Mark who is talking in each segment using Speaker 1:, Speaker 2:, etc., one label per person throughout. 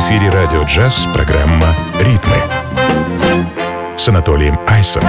Speaker 1: эфире радио «Джаз» программа «Ритмы» с Анатолием Айсом.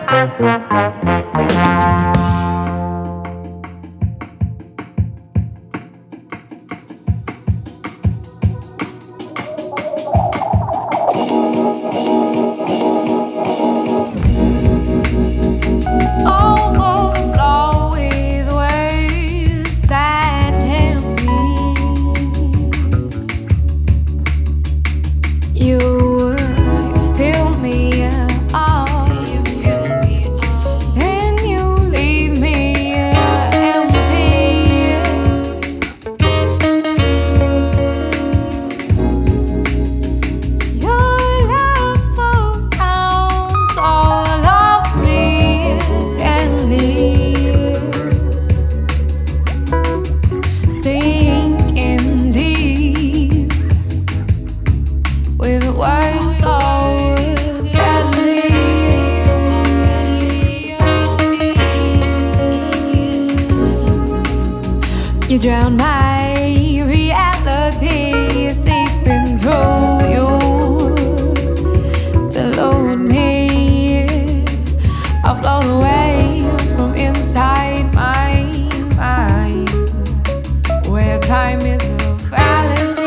Speaker 2: You drown my reality, seeping through you to load me. I've flown away from inside my mind, where time is a fallacy.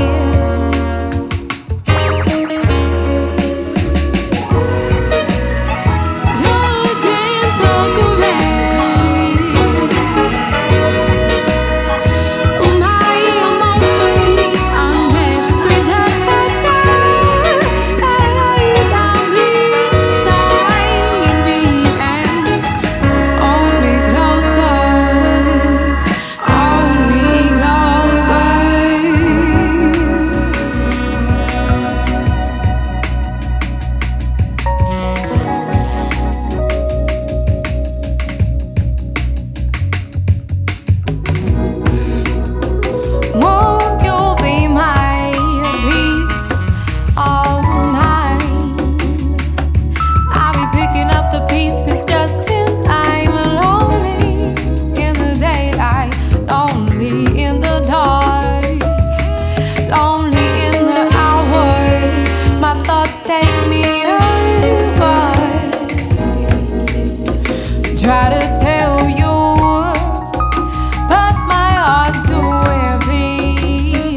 Speaker 2: Try to tell you, but my heart's too heavy.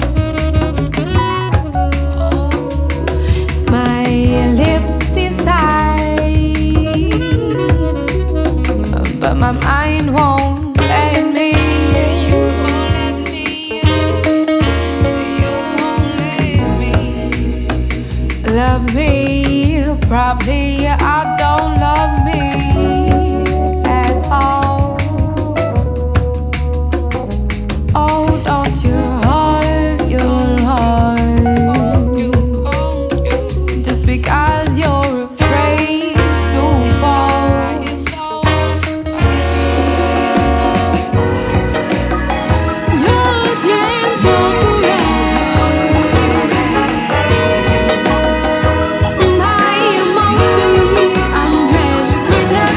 Speaker 2: My lips decide, but my mind won't let me. Love me, probably I don't love me. Oh, don't you hurt your heart just because you're afraid to fall. Your gentle caress, my emotions undressed with a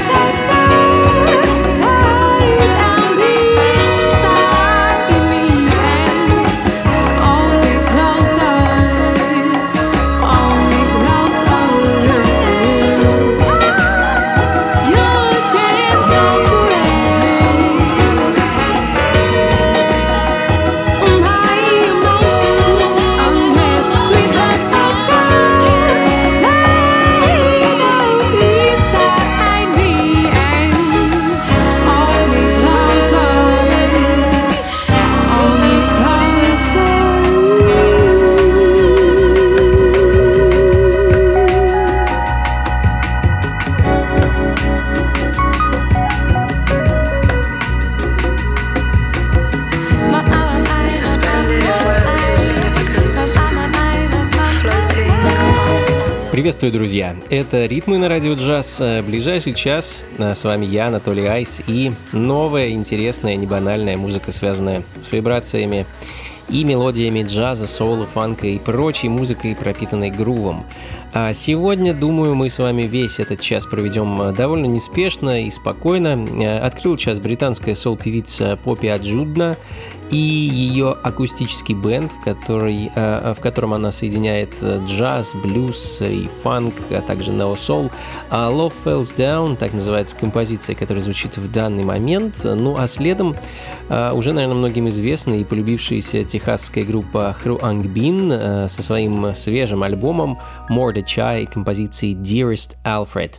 Speaker 3: Приветствую, друзья! Это «Ритмы» на радио «Джаз». Ближайший час с вами я, Анатолий Айс, и новая, интересная, небанальная музыка, связанная с вибрациями и мелодиями джаза, соула, фанка и прочей музыкой, пропитанной грувом. А сегодня, думаю, мы с вами весь этот час проведем довольно неспешно и спокойно. Открыл час британская соул-певица Поппи Аджудна, и ее акустический бенд, в котором она соединяет джаз, блюз и фанк, а также нео-сол. Love Falls Down, так называется композиция, которая звучит в данный момент. Ну а следом уже, наверное, многим известная и полюбившаяся техасская группа Hruang Bin со своим свежим альбомом Mordechai и композицией Dearest Alfred.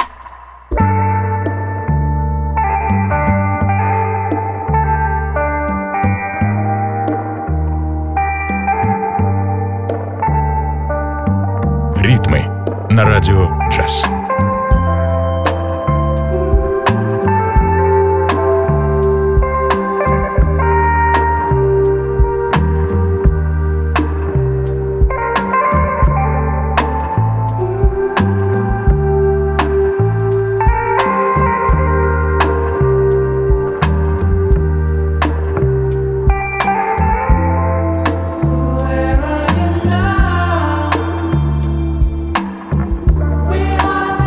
Speaker 1: Ритмы на радио «Джаз».
Speaker 2: We are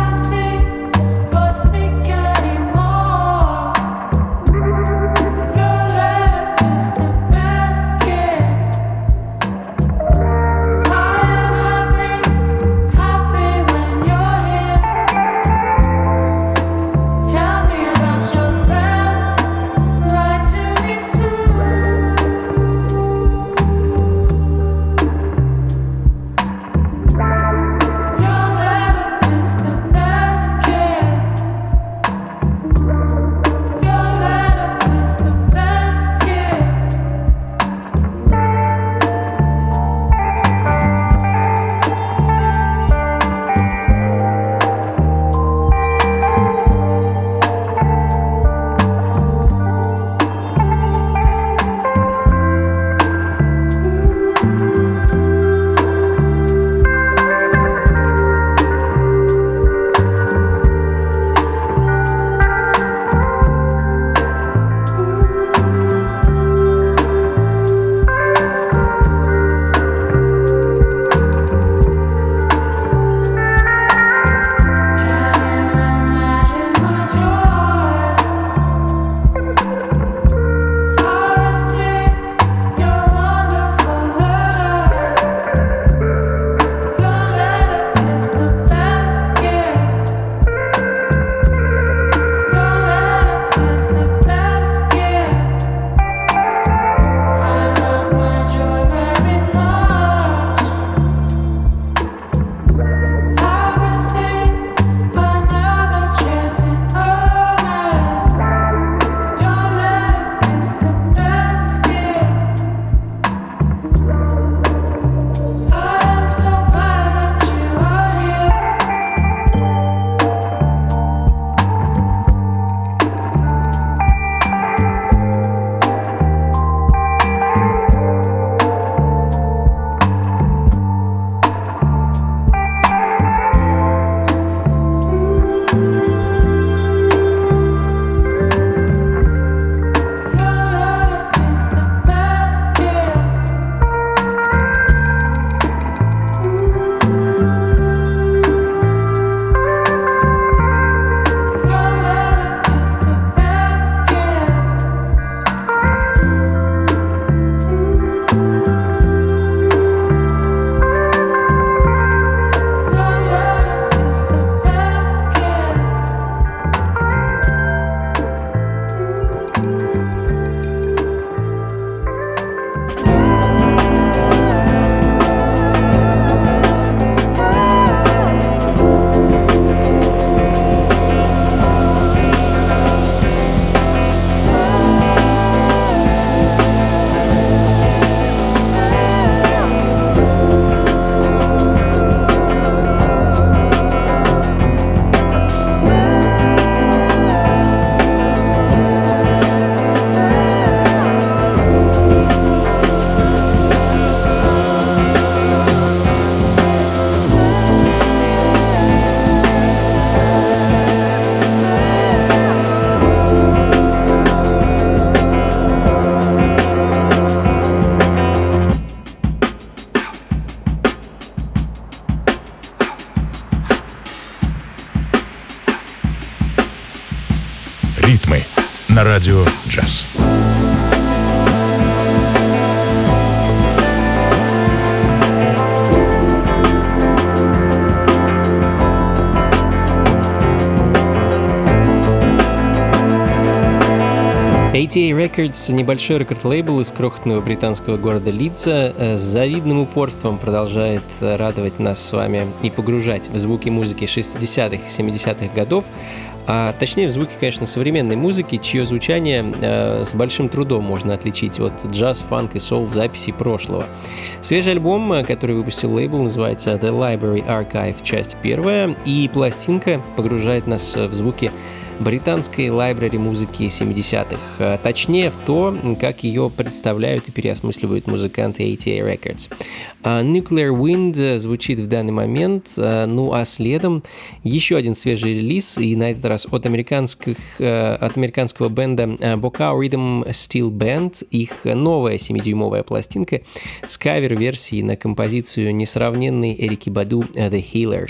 Speaker 3: ATA Records — небольшой рекорд-лейбл из крохотного британского города Лидса, с завидным упорством продолжает радовать нас с вами и погружать в звуки музыки 60-х и 70-х годов, а точнее в звуки, конечно, современной музыки, чье звучание с большим трудом можно отличить от джаз, фанк и соул записей прошлого. Свежий альбом, который выпустил лейбл, называется The Library Archive, часть 1, и пластинка погружает нас в звуки британской лайбрери музыки 70-х, точнее в то, как ее представляют и переосмысливают музыканты ATA Records. Nuclear Wind звучит в данный момент, ну а следом еще один свежий релиз, и на этот раз от американского бенда Bokau Rhythm Steel Band, их новая 7-дюймовая пластинка с кавер-версией на композицию несравненной Эрики Баду The Healer.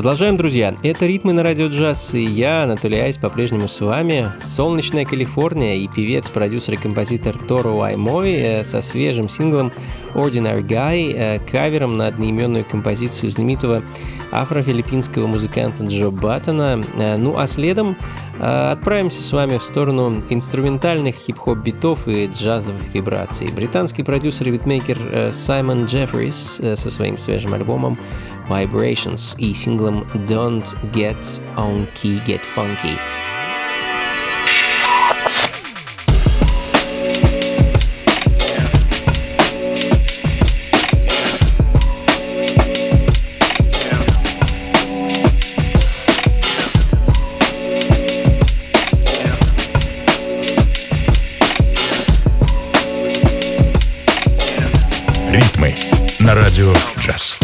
Speaker 3: Продолжаем, друзья. Это «Ритмы на радио джаз», и я, Анатолий Айс, по-прежнему с вами. Солнечная Калифорния и певец, продюсер и композитор Торо Аймой со свежим синглом «Ordinary Guy», кавером на одноименную композицию знаменитого афро-филиппинского музыканта Джо Баттона. Ну а следом отправимся с вами в сторону инструментальных хип-хоп битов и джазовых вибраций. Британский продюсер и битмейкер Саймон Джеффрис со своим свежим альбомом Vibrations и синглом Don't Get On Key, Get Funky.
Speaker 1: Ритмы на радио джаз.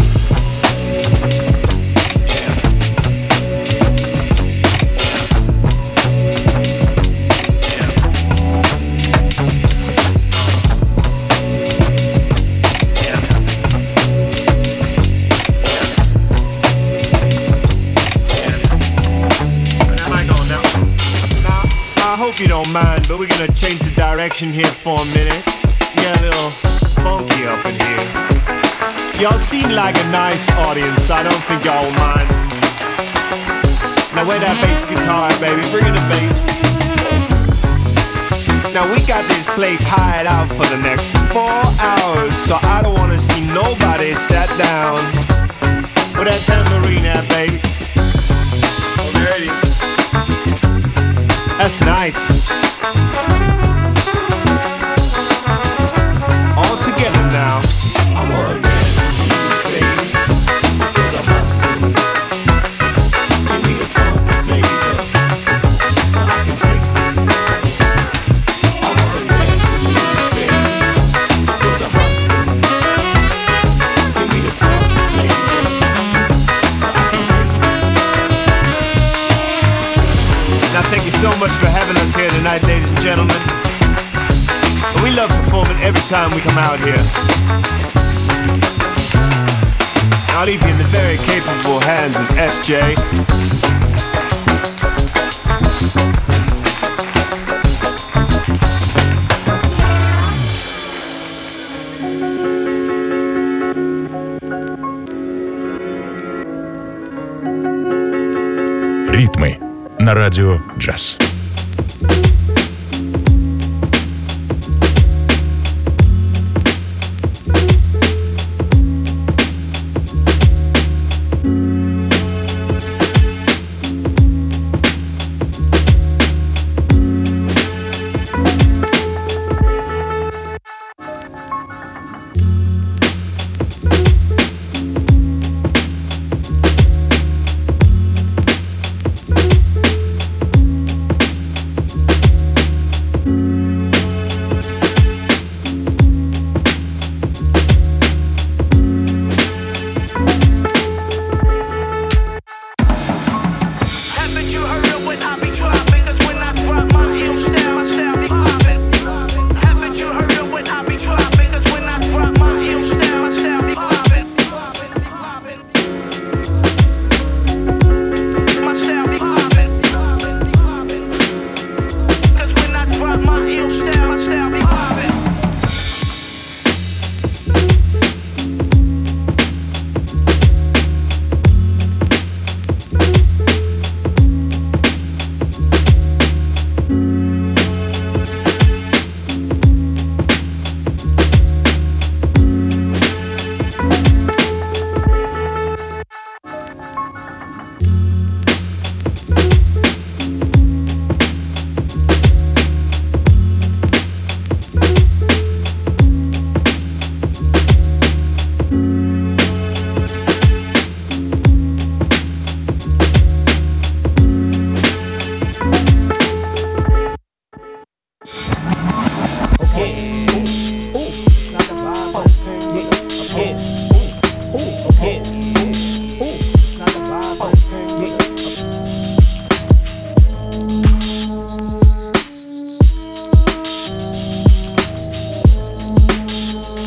Speaker 4: You don't mind, but we're gonna change the direction here for a minute. Get a little funky up in here. Y'all seem like a nice audience, I don't think y'all will mind. Now where that bass guitar, baby, bring in the bass. Now we got this place hired out for the next 4 hours, so I don't wanna see nobody sat down. With that tambourine there, baby. Okay. That's nice. All together now. I wanna dance with you, baby. Feel the hustle. Give me a funky flavor, so I can taste it. I wanna dance with you, baby. Feel the hustle. Give me a funky flavor, so I can taste it. Now thank you so much for having us here tonight, ladies and gentlemen. We love performing every time we come out here. I'll leave you in the very capable hands of SJ.
Speaker 1: Ритмы на радио джаз.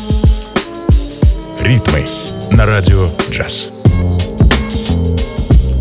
Speaker 1: Ритмы на радио джаз.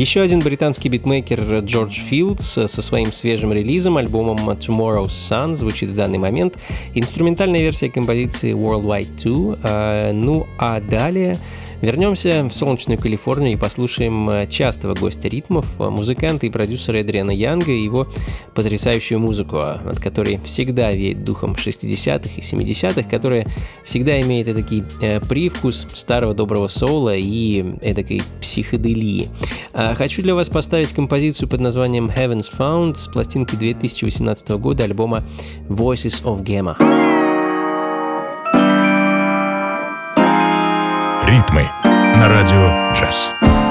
Speaker 3: Еще один британский битмейкер Джордж Филдс со своим свежим релизом, альбомом Tomorrow's Sun, звучит в данный момент. Инструментальная версия композиции Worldwide 2. Ну а далее вернемся в солнечную Калифорнию и послушаем частого гостя ритмов, музыканта и продюсера Эдриана Янга и его потрясающую музыку, от которой всегда веет духом 60-х и 70-х, которая всегда имеет этакий привкус старого доброго соула и эдакой психоделии. Хочу для вас поставить композицию под названием Heaven's Found с пластинки 2018 года альбома Voices of Gamma.
Speaker 1: Ритмы на радио «Джаз».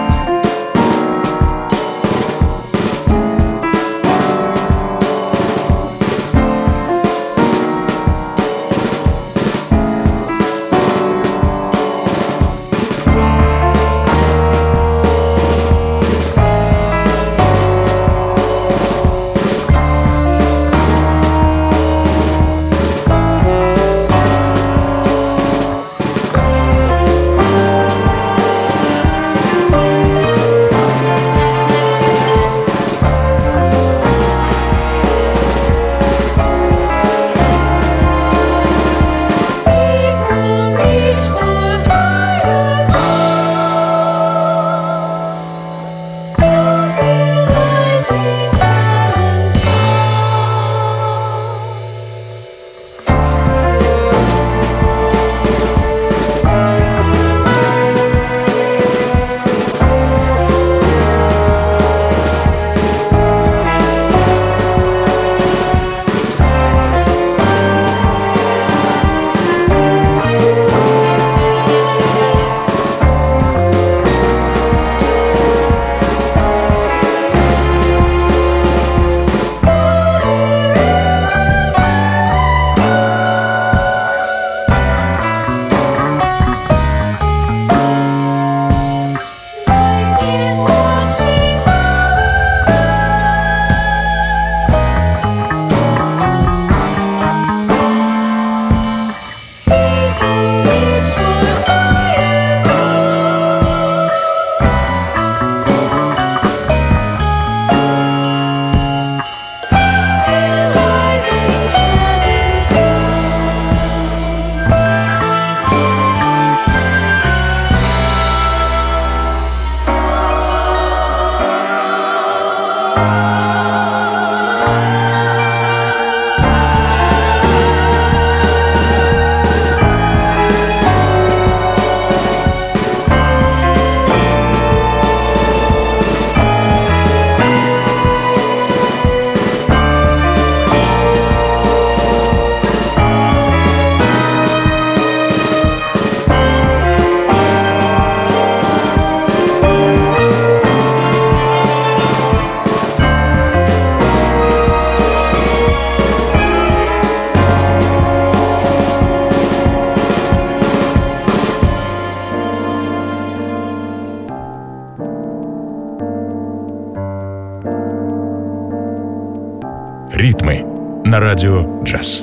Speaker 1: Ритмы на радио «Джаз».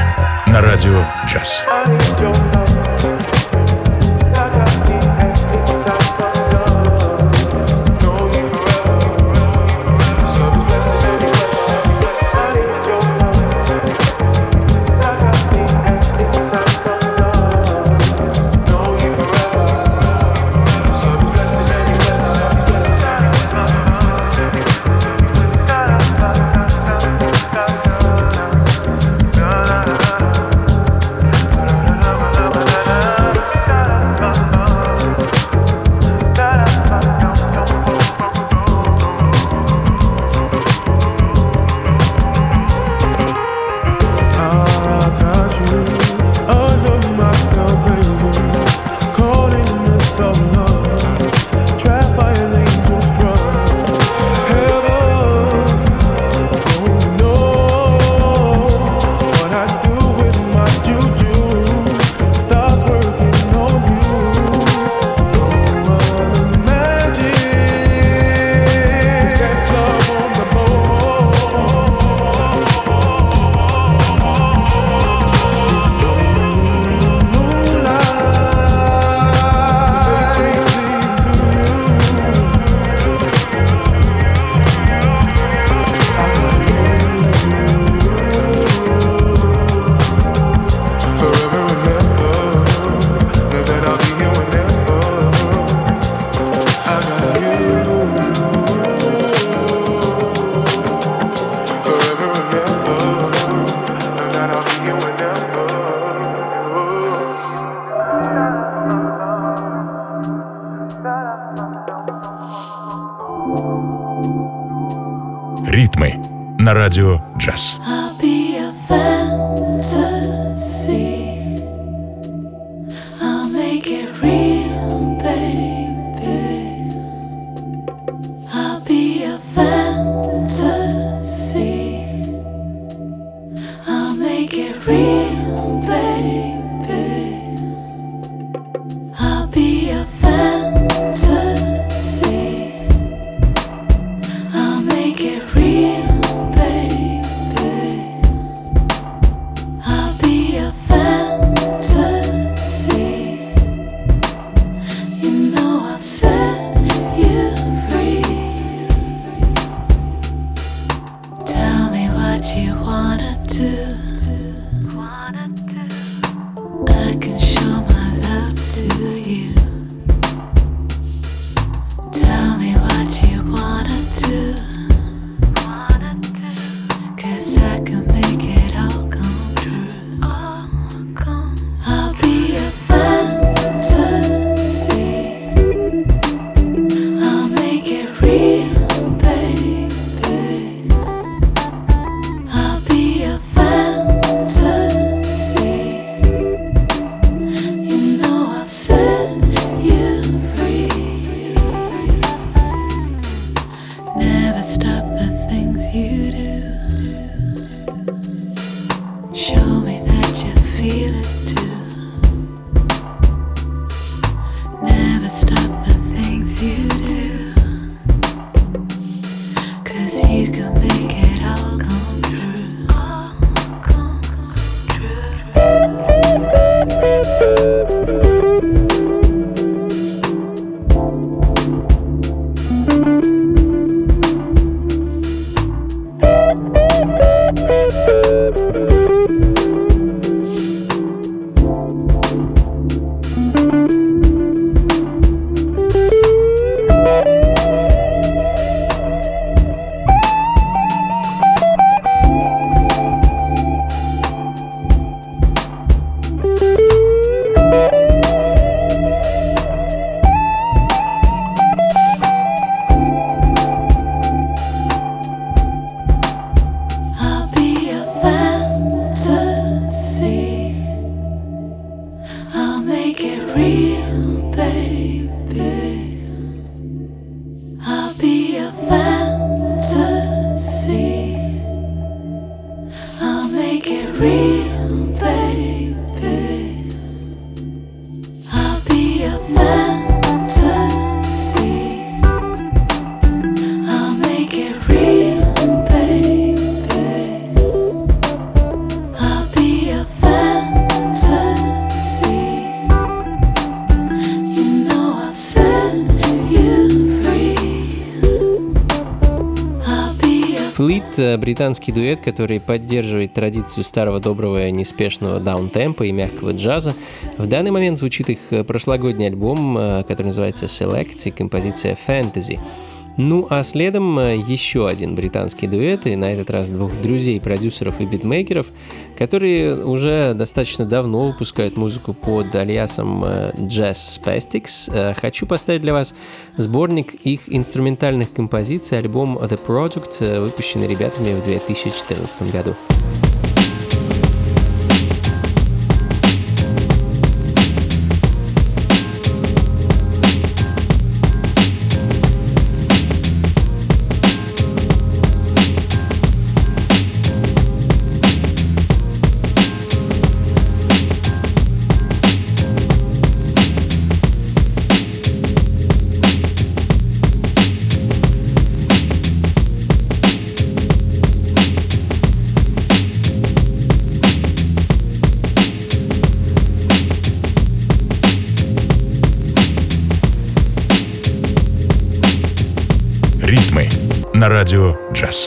Speaker 1: на радио «Джаз».
Speaker 4: I need your love, like I need air inside my lungs. Know you forever, this love is less than any weather. I need your love, like I need air inside my lungs. Know you forever, this love is less than any weather.
Speaker 1: Ритмы на радио «Джаз».
Speaker 2: I'll be a fantasy. I'll make it real, baby. I'll be a fantasy. I'll make it real, baby. I'll be a fantasy. I'll make it real, baby. I'll be a fantasy. You know I'll set you free. Tell me what you wanna do. I can show my love to you. Tell me what you wanna do. 'Cause I can make it all come true. I'll be a fantasy. I'll make it real, baby. I'll be a fantasy. You know I'll set you free. Never stop the things you do. Show me that you feel it too. Never stop the things you do. 'Cause you can make it all come true. I'll be a fantasy. I'll make it real, baby. I'll be a fantasy. I'll make it real, baby. I'll be a fantasy. I'll make it real, baby. I'll be a
Speaker 3: британский дуэт, который поддерживает традицию старого доброго неспешного даунтемпа и мягкого джаза. В данный момент звучит их прошлогодний альбом, который называется Select, и композиция Fantasy. Ну а следом еще один британский дуэт, и на этот раз двух друзей-продюсеров и битмейкеров, которые уже достаточно давно выпускают музыку под алиасом Jazz Spastics. Хочу поставить для вас сборник их инструментальных композиций, альбом The Project, выпущенный ребятами в 2014 году.
Speaker 1: Ритмы на радио «Джаз».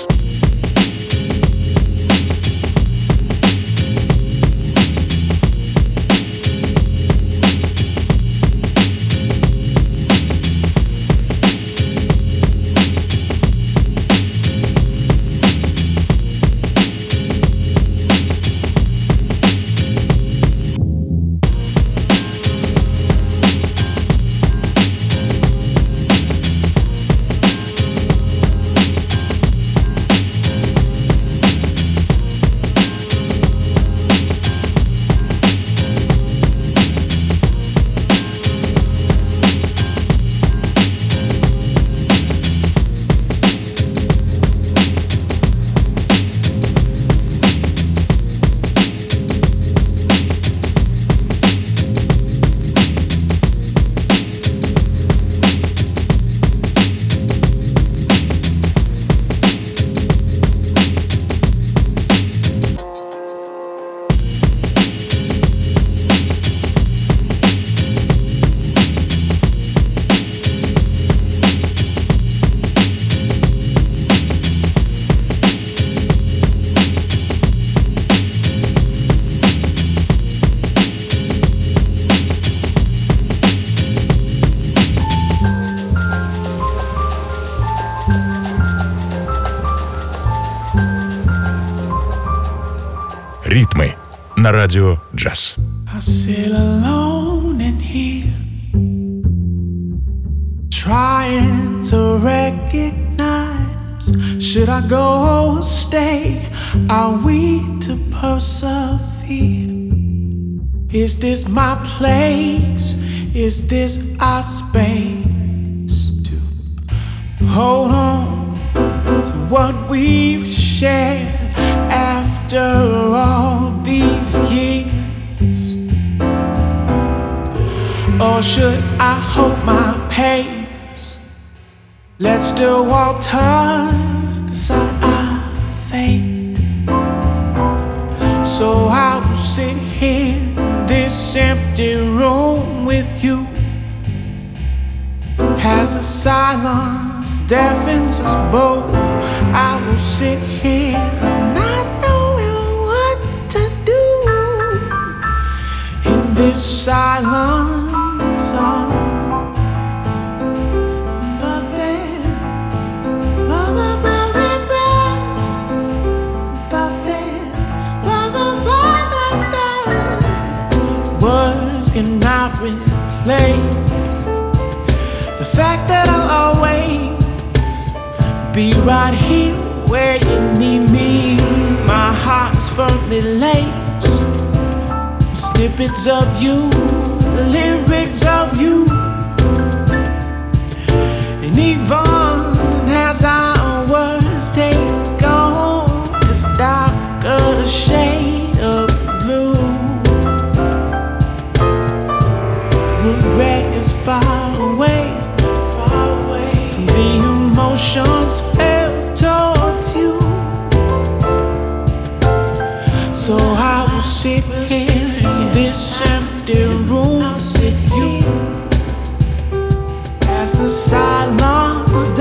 Speaker 1: Ритмы на радио «Джаз».
Speaker 4: I sit alone in here, trying to recognize, should I go or stay? Are we to persevere? Is this my place? Is this our space to hold on to what we've shared after all these years? Or should I hold my pace? Let's the waters decide our fate. So I will sit here in this empty room with you, as the silence deafens us both. I will sit here not knowing what to do in this silence. But then, words cannot replace the fact that I'll always be right here where you need me. My heart's firmly laced with snippets of you, the lyrics of you. And even as our words take on this darker shade of blue, regret is far away, far away from the emotions felt towards you. So I will sit here in this empty room with you, as the silence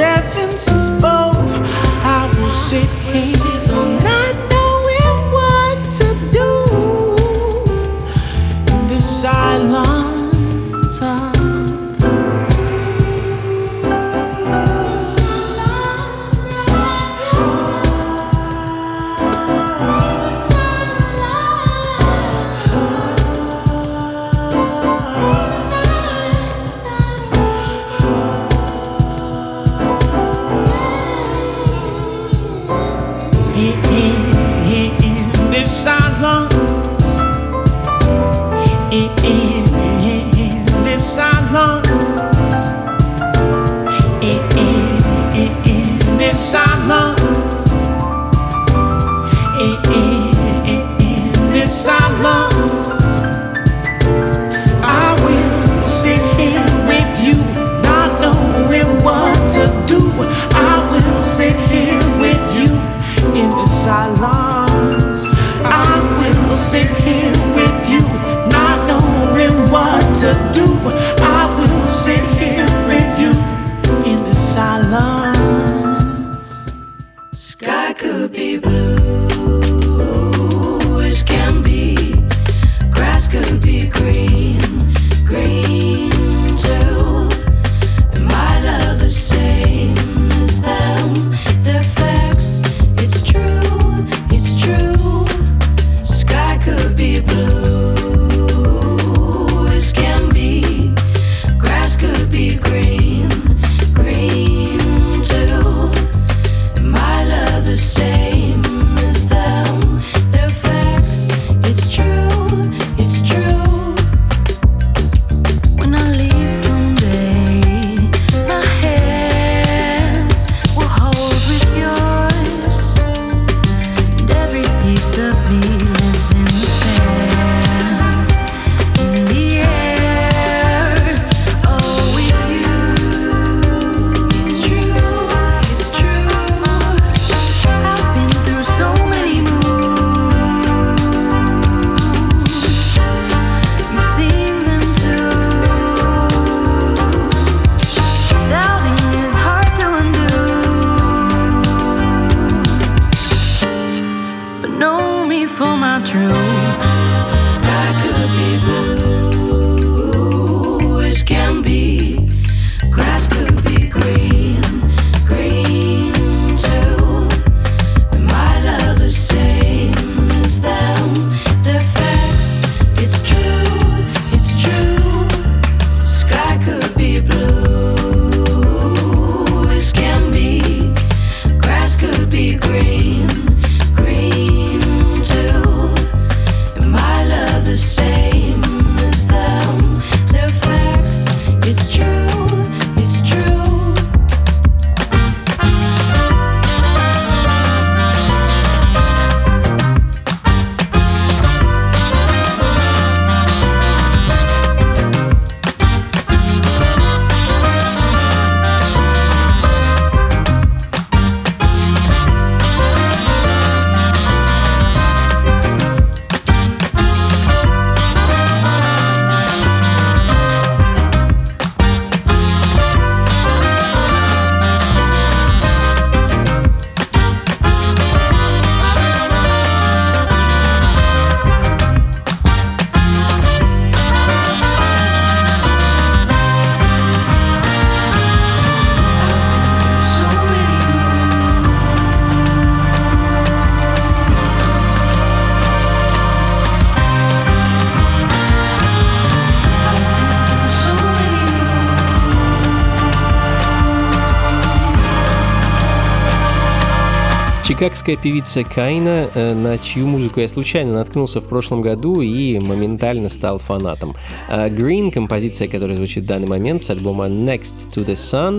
Speaker 3: Чикагская певица Кайна, на чью музыку я случайно наткнулся в прошлом году и моментально стал фанатом. Green, композиция, которая звучит в данный момент с альбома Next to the Sun.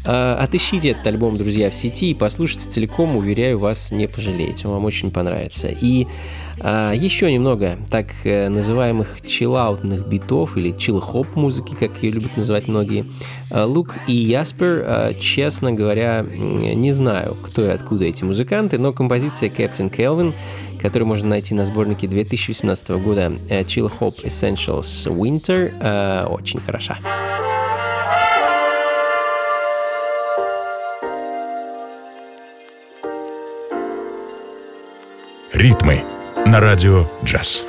Speaker 3: Отыщите этот альбом, друзья, в сети и послушайте целиком, уверяю, вас не пожалеете, он вам очень понравится. И еще немного так называемых чиллаутных битов или чилл-хоп музыки, как ее любят называть многие. Лук и Яспер, честно говоря, не знаю, кто и откуда эти музыканты, но композиция Captain Kelvin, которую можно найти на сборнике 2018 года Chill Hop Essentials Winter, очень хороша.
Speaker 1: Ритмы на радио «Джаз».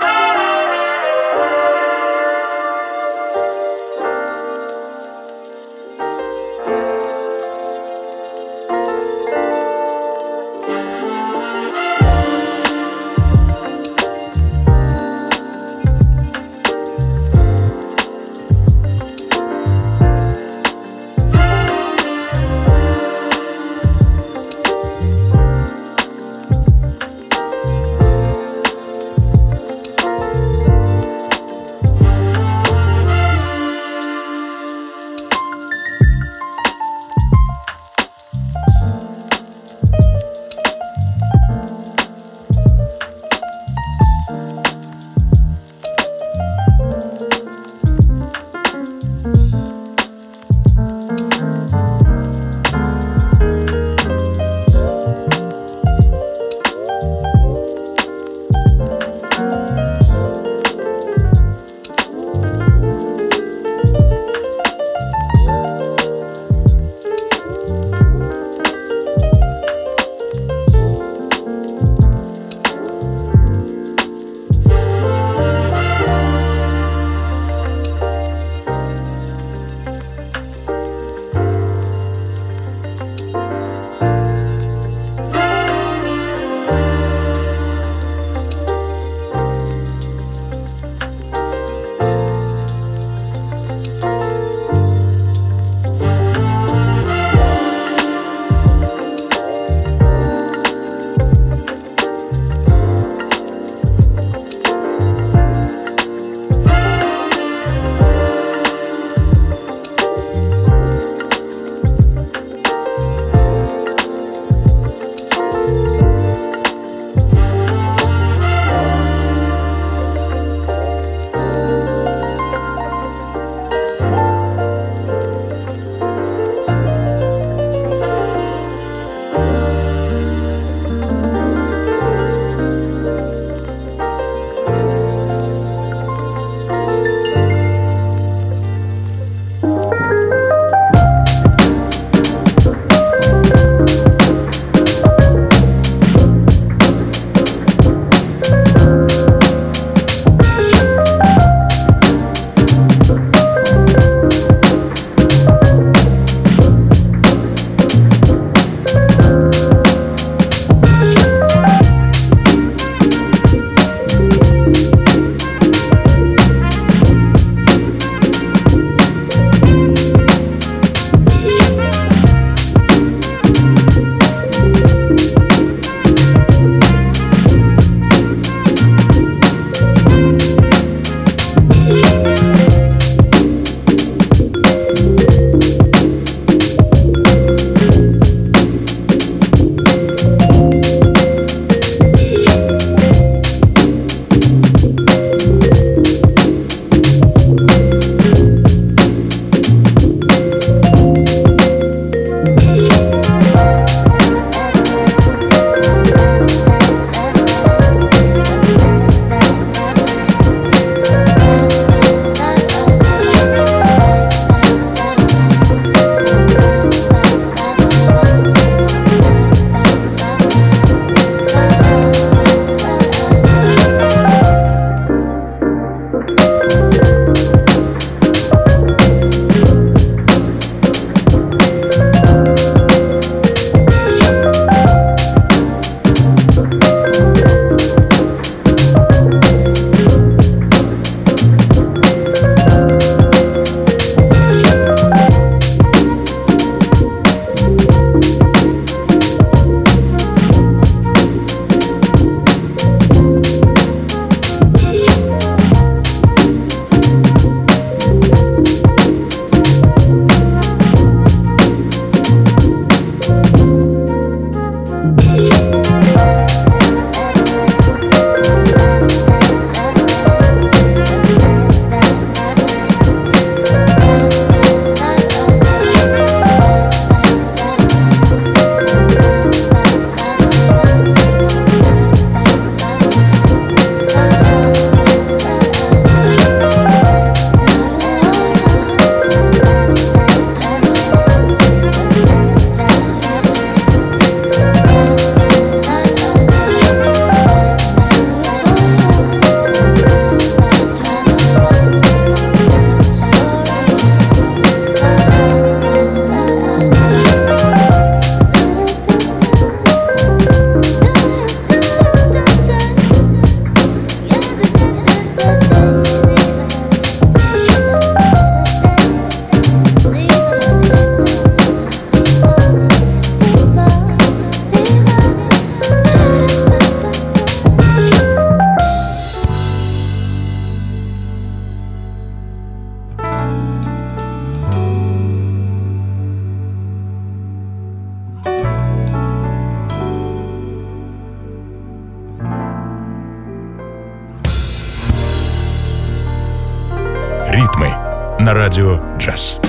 Speaker 1: на радио «Джаз».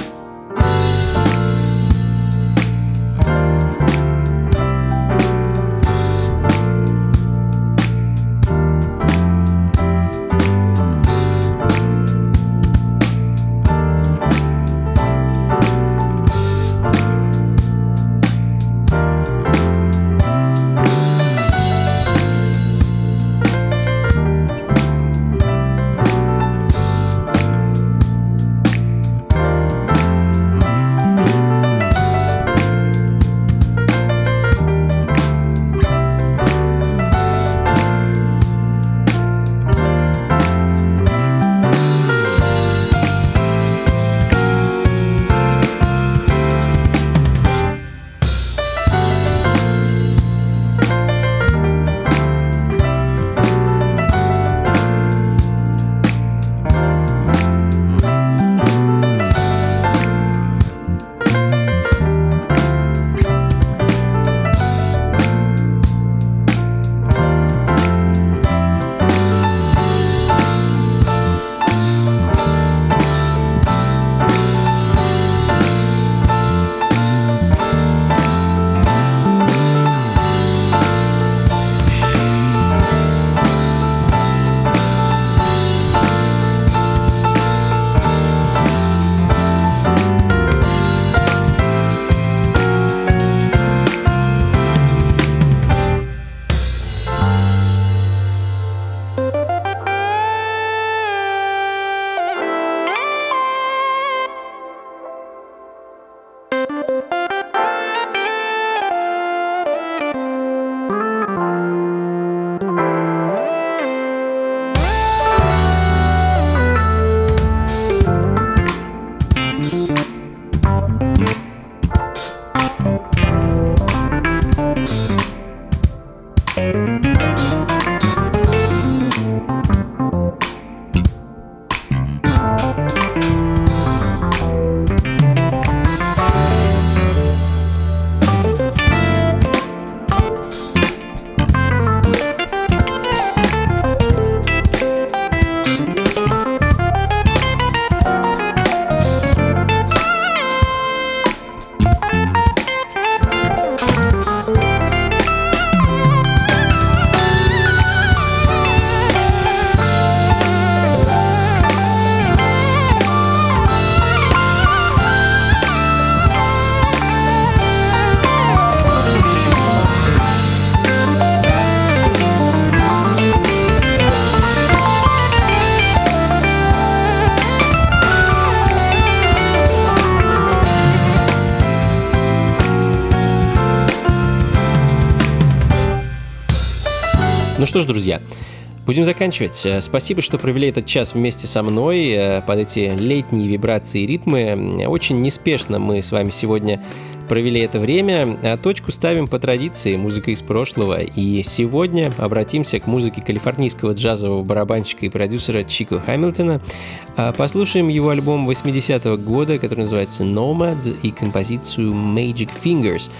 Speaker 3: Ну что ж, друзья, будем заканчивать. Спасибо, что провели этот час вместе со мной под эти летние вибрации и ритмы. Очень неспешно мы с вами сегодня провели это время, а точку ставим по традиции, музыка из прошлого. И сегодня обратимся к музыке калифорнийского джазового барабанщика и продюсера Чико Хэмилтона. Послушаем его альбом 80-го года, который называется «Nomad», и композицию «Magic Fingers».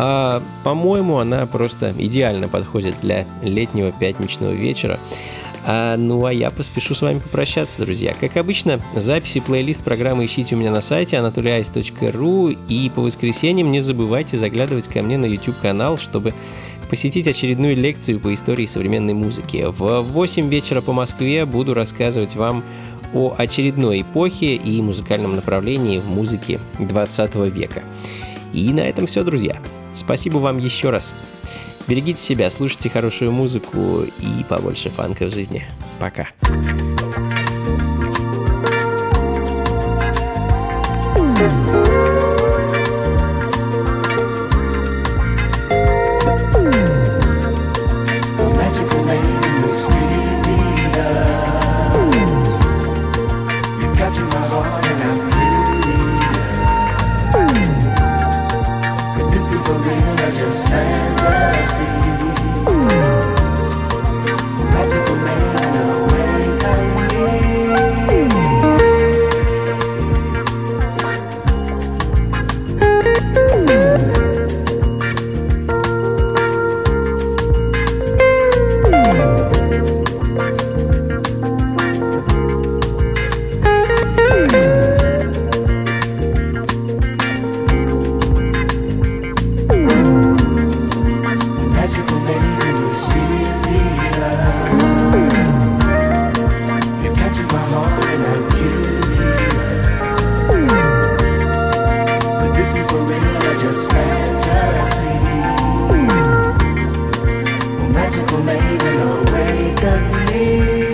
Speaker 3: По-моему, она просто идеально подходит для летнего пятничного вечера. Ну а я поспешу с вами попрощаться, друзья. Как обычно, записи, плейлист программы ищите у меня на сайте anatolyice.ru, и по воскресеньям не забывайте заглядывать ко мне на YouTube-канал, чтобы посетить очередную лекцию по истории современной музыки. В 8 вечера по Москве буду рассказывать вам о очередной эпохе и музыкальном направлении в музыке 20 века. И на этом все, друзья. Спасибо вам еще раз. Берегите себя, слушайте хорошую музыку и побольше фанка в жизни. Пока.
Speaker 4: Just fantasy, magical man awaken me. just fantasy. Well, magical maiden awaken me.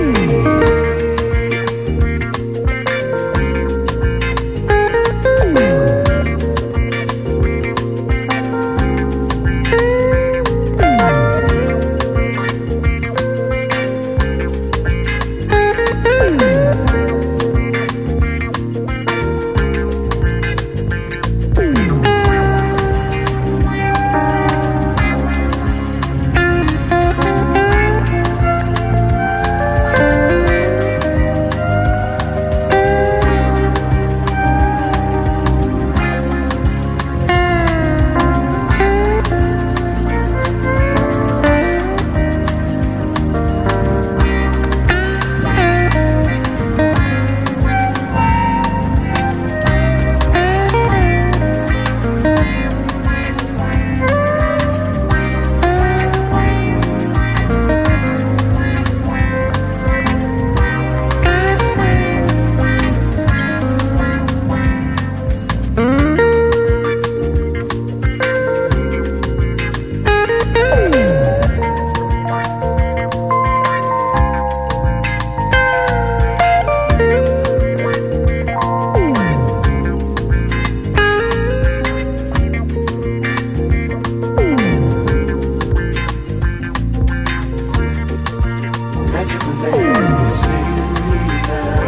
Speaker 4: Magical maiden, mysterious.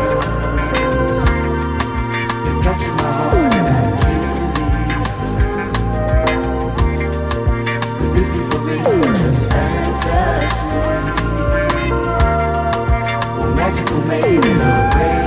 Speaker 4: You've captured my heart and I'm curious. Could this be for real or just fantasy? Well, magical maiden, away.